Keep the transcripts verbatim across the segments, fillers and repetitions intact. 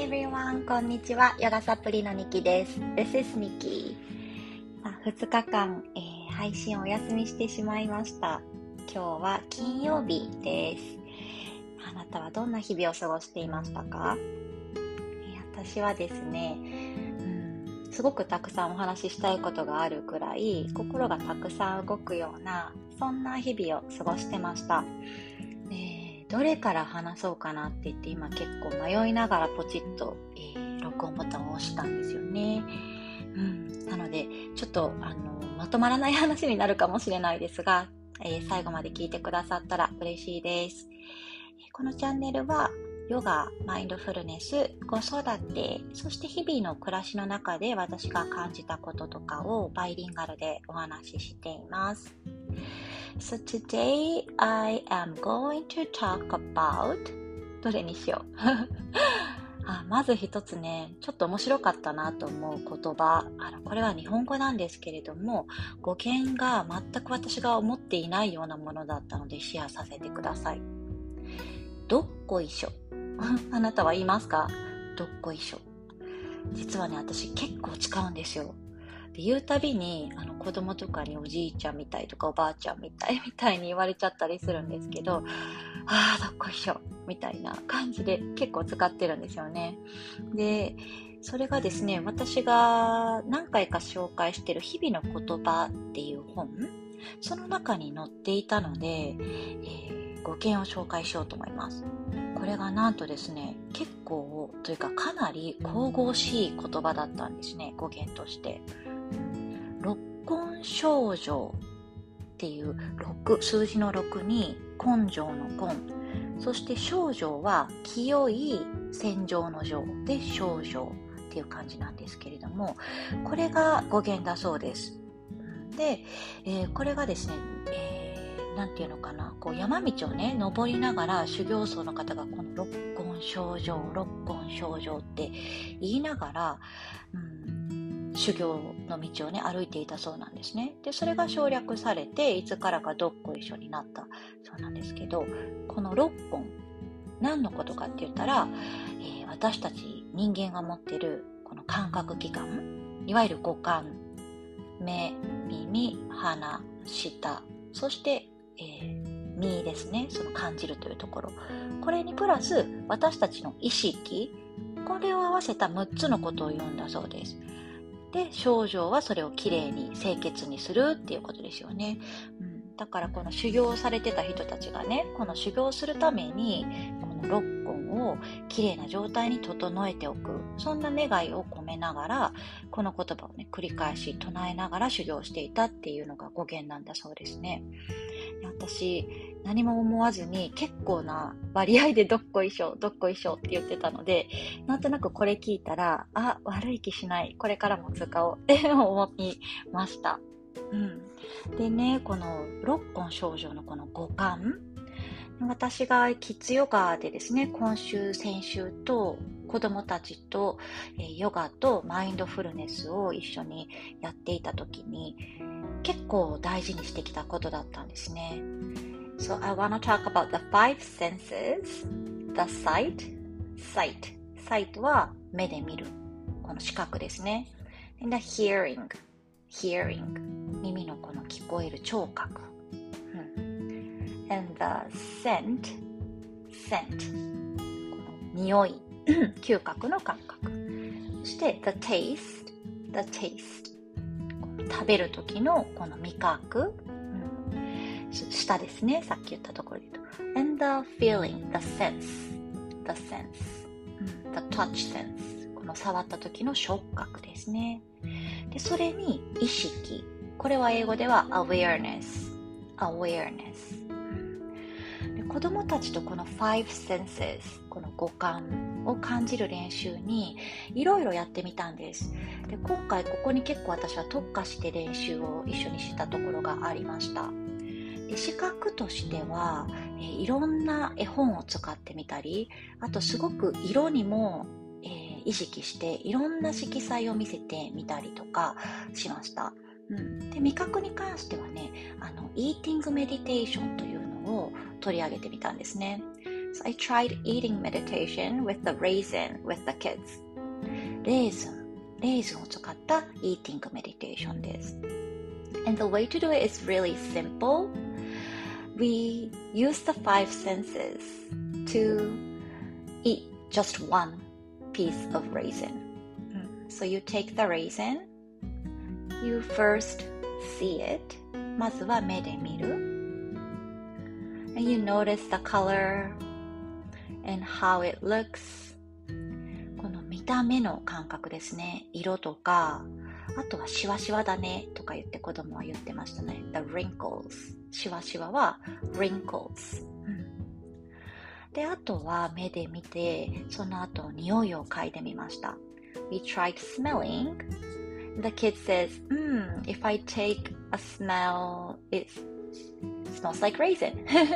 everyone! こんにちは。ヨガサプリのニキです。This is Nikki。ふつかかん、えー、配信をお休みしてしまいました。今日は金曜日です。あなたはどんな日々を過ごしていましたか？えー、私はですね、うん、すごくたくさんお話ししたいことがあるくらい、心がたくさん動くような、そんな日々を過ごしてました。どれから話そうかなって言って今結構迷いながらポチッと、えー、録音ボタンを押したんですよね。うん、なのでちょっとあのまとまらない話になるかもしれないですが、えー、最後まで聞いてくださったら嬉しいです。このチャンネルはヨガ、マインドフルネス、子育て、そして日々の暮らしの中で私が感じたこととかをバイリンガルでお話ししています。So today I am going to talk about どれにしようあまず一つね、ちょっと面白かったなと思う言葉、あのこれは日本語なんですけれども、語源が全く私が思っていないようなものだったのでシェアさせてください。どっこいしょあなたは言いますか？どっこいしょ。実はね、私結構使うんですよ。で言うたびにあの子供とかにおじいちゃんみたいとかおばあちゃんみたいみたいに言われちゃったりするんですけど、あーどっこいしょみたいな感じで結構使ってるんですよね。でそれがですね、私が何回か紹介している日々の言葉っていう本、その中に載っていたので、えー、語源を紹介しようと思います。これがなんとですね、結構というかかなり神々しい言葉だったんですね、語源として。六根清浄っていうろく、数字のろくに根性の根、そして清浄は清い洗浄の浄で清浄っていう感じなんですけれども、これが語源だそうです。で、えー、これがですね、えー、なんていうのかな、こう山道をね登りながら修行僧の方がこの六根清浄六根清浄って言いながら、うん修行の道をね歩いていたそうなんですね。でそれが省略されていつからかどっこいしょになったそうなんですけど、このろっぽん何のことかって言ったら、えー、私たち人間が持っているこの感覚器官、いわゆる五感、目、耳、鼻、舌、そして、えー、身ですね、その感じるというところ、これにプラス私たちの意識、これを合わせたむっつのことを言うんだそうです。で、清浄はそれをきれいに清潔にするっていうことですよね。うん、だからこの修行されてた人たちがね、この修行するためにこの六根をきれいな状態に整えておく、そんな願いを込めながらこの言葉をね繰り返し唱えながら修行していたっていうのが語源なんだそうですね。私何も思わずに結構な割合でどっこいしょどっこいしょって言ってたので、なんとなくこれ聞いたら、あ、悪い気しない、これからも使おうって思いました。うん、でね、この六根清浄のこの五感、私がキッズヨガでですね、今週先週と子供たちとヨガとマインドフルネスを一緒にやっていた時に結構大事にしてきたことだったんですね。So I want to talk about the five senses. The sight, sight. Sight は目で見る、この視覚ですね。And the hearing, hearing. 耳のこの聞こえる聴覚。うん、And the scent, scent. この匂い、嗅覚の感覚。そして the taste, the taste. 食べる時のこの味覚、舌ですね、さっき言ったところで言うと。And the feeling, the sense, the sense, the touch sense. この触った時の触覚ですね。で、それに意識。これは英語では awareness, awareness。で、子供たちとこの five senses、この五感を感じる練習にいろいろやってみたんです。で、今回ここに結構私は特化して練習を一緒にしたところがありました。で、視覚としては、えー、いろんな絵本を使ってみたり、あとすごく色にも、えー、意識していろんな色彩を見せてみたりとかしました。うん、で、味覚に関してはね、あのイーティングメディテーションというのを取り上げてみたんですね。 So I tried eating meditation with the raisin with the kids. レーズン、レーズンを使った eating meditation です。And the way to do it is really simple. We use the five senses to eat just one piece of raisin. So you take the raisin, you first see it. まずは目で見る。And you notice the color and how it looks. この見た目の感覚ですね。色とか、あとはシワシワだねとか言って子供は言ってましたね。The wrinkles. シワシワは wrinkles、うん。で、あとは目で見て、その後匂いを嗅いでみました。We tried smelling. The kid says, hmm, if I take a smell, it smells like raisin.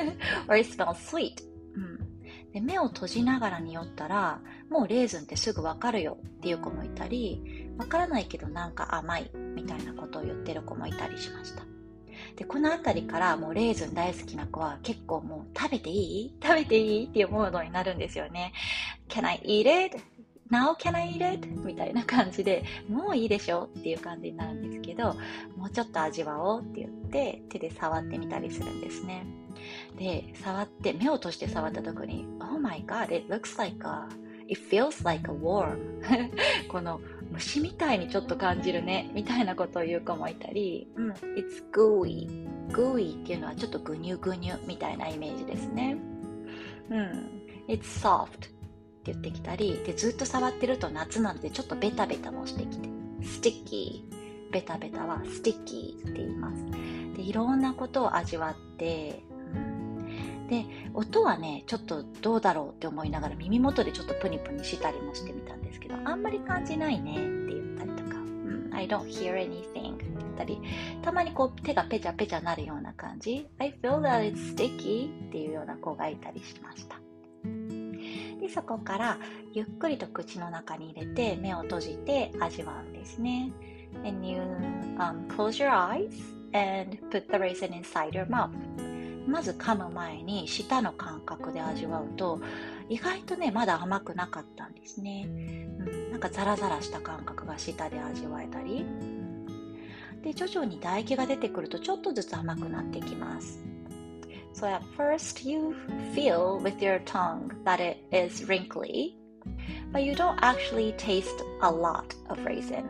Or it smells sweet.で目を閉じながら匂ったらもうレーズンってすぐわかるよっていう子もいたり、わからないけどなんか甘いみたいなことを言ってる子もいたりしました。でこのあたりからもうレーズン大好きな子は結構もう食べていい食べていいっていうモードになるんですよね。 Can I eat it? Now can I eat it? みたいな感じでもういいでしょっていう感じになるんですけど、もうちょっと味わおうって言って手で触ってみたりするんですね。で、触って目を閉じて触った時に Oh my god, it looks like a It feels like a worm この虫みたいにちょっと感じるねみたいなことを言う子もいたり、うん、It's gooey gooey っていうのはちょっとグニュグニュみたいなイメージですね。うん、It's softって言ってきたりで、ずっと触ってると夏なのでちょっとベタベタもしてきて Sticky ベタベタは Sticky って言います。でいろんなことを味わってで音はねちょっとどうだろうって思いながら耳元でちょっとプニプニしたりもしてみたんですけど、あんまり感じないねって言ったりとか、うん、I don't hear anything って言ったり、たまにこう手がペチャペチャなるような感じ I feel that it's sticky っていうような子がいたりしました。でそこからゆっくりと口の中に入れて目を閉じて味わうんですね。And you、um, close your eyes and put the raisin inside your mouth。まず噛む前に舌の感覚で味わうと意外とねまだ甘くなかったんですね、うん、なんかザラザラした感覚が舌で味わえたり、うん、で徐々に唾液が出てくるとちょっとずつ甘くなってきます。 So at first you feel with your tongue that it is wrinkly, but you don't actually taste a lot of raisin.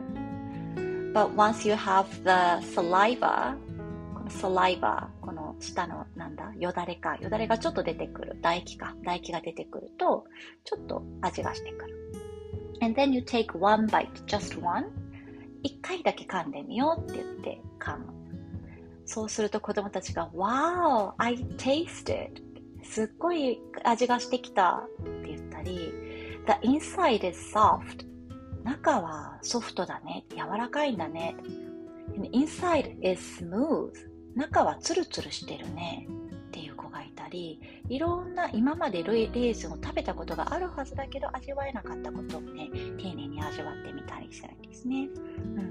But once you have the salivaサライバー、この下のなんだよだれかよだれがちょっと出てくる、唾液か唾液が出てくるとちょっと味がしてくる。 And then you take one bite, just one。 一回だけ噛んでみようって言って噛む。そうすると子供たちが Wow, I tasted すっごい味がしてきたって言ったり The inside is soft 中はソフトだね、柔らかいんだね。 And inside is smooth中はツルツルしてるねっていう子がいたり、いろんな今までレーズンを食べたことがあるはずだけど味わえなかったことをね丁寧に味わってみたりするんですね、うん、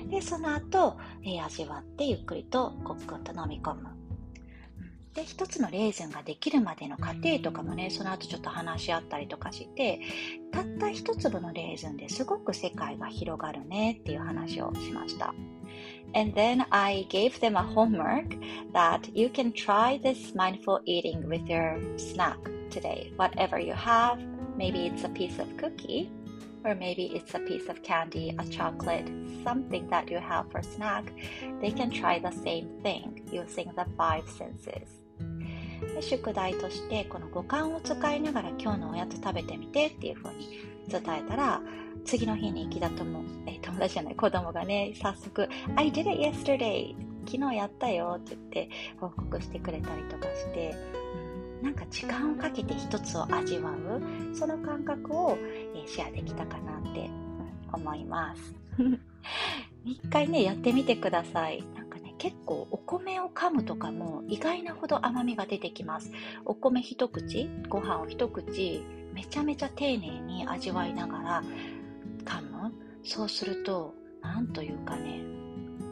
でその後、えー、味わってゆっくりとコックンと飲み込む。で一つのレーズンができるまでの過程とかもねその後ちょっと話し合ったりとかして、たった一粒のレーズンですごく世界が広がるねっていう話をしました。And then I gave them a homework that you can try this mindful eating with your snack today. Whatever you have, maybe it's a piece of cookie, or maybe it's a piece of candy, a chocolate, something that you have for snack. They can try the same thing using the five senses. で宿題としてこの五感を使いながら今日のおやつ食べてみてっていう風に伝えたら、次の日に木田友、え友達じゃない子供がね早速 I did it yesterday 昨日やったよって言って報告してくれたりとかして、うん、なんか時間をかけて一つを味わうその感覚を、えー、シェアできたかなって、うん、思います一回ねやってみてください。なんかね結構お米を噛むとかも意外なほど甘みが出てきます。お米一口ご飯を一口めちゃめちゃ丁寧に味わいながら噛む。そうするとなんというかね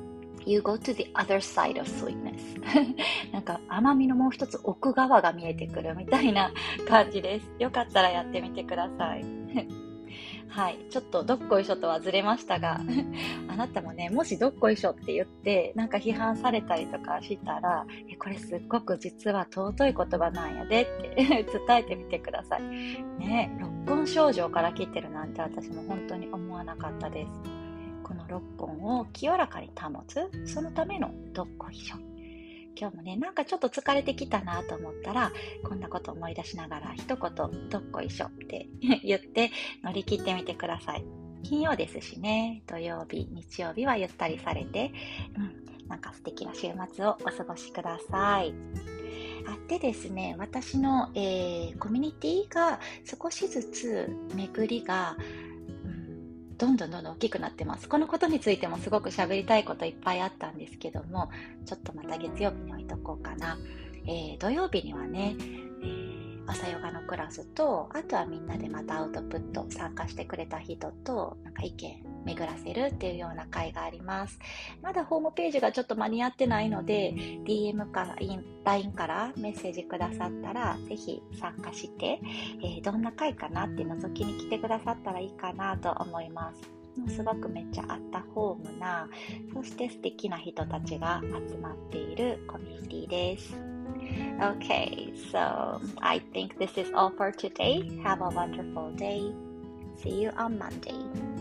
You go to the other side of sweetness なんか甘みのもう一つ奥側が見えてくるみたいな感じです。よかったらやってみてくださいはい、ちょっとどっこいしょとはずれましたがあなたもね、もしどっこいしょって言ってなんか批判されたりとかしたら、えこれすっごく実は尊い言葉なんやでって伝えてみてくださいね。六根症状から来てるなんて私も本当に思わなかったです。この六根を清らかに保つ、そのためのどっこいしょ。今日もね、なんかちょっと疲れてきたなと思ったら、こんなこと思い出しながら一言どっこいしょって言って乗り切ってみてください。金曜ですしね、土曜日、日曜日はゆったりされて、うん、なんか素敵な週末をお過ごしください。あってですね、私の、えー、コミュニティが少しずつ巡りがどんどんどんどん大きくなってます。このことについてもすごく喋りたいこといっぱいあったんですけども、ちょっとまた月曜日に置いとこうかな。えー、土曜日にはね、えー、朝ヨガのクラスと、あとはみんなでまたアウトプット参加してくれた人となんか意見巡らせるっていうような会があります。まだホームページがちょっと間に合ってないので ディーエム から ライン からメッセージくださったらぜひ参加して、えー、どんな会かなって覗きに来てくださったらいいかなと思います。すごくめっちゃアットホームな、そして素敵な人たちが集まっているコミュニティです。Okay, so I think this is all for today. Have a wonderful day. See you on Monday.